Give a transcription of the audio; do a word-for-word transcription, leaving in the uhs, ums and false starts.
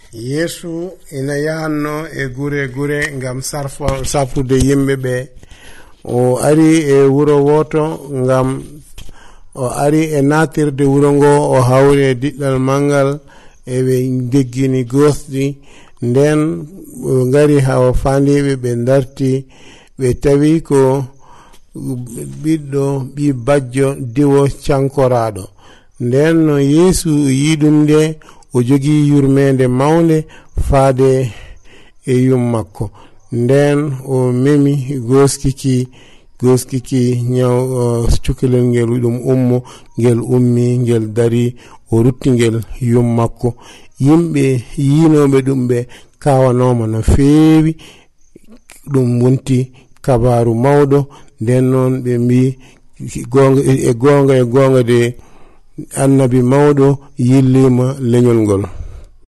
Yesu ina yahanno e gure gure ngam sarfa safude yimbe be. O ari e wuro woto ngam o ari e natirde wuro ngo o hawre diddal mangal e be deggini gosdi nden ngari hawa fandibe be darti be tawi ko biddo bi bajjo diwo cankorado nden no Yesu yidumde o jogi yurmende mawnde faade e yum makko nden o memi goskiki goskiki nyaw uh, cukalel ngel dum ummo ngel ummi ngel dari o rutti ngel yum makko yimbe yinobe dum be kawanoma no feewi dum wonti kabaru mawdo nden non be mbi gonga e gonga e gonga de annabi mawdo yillima leñol ngol.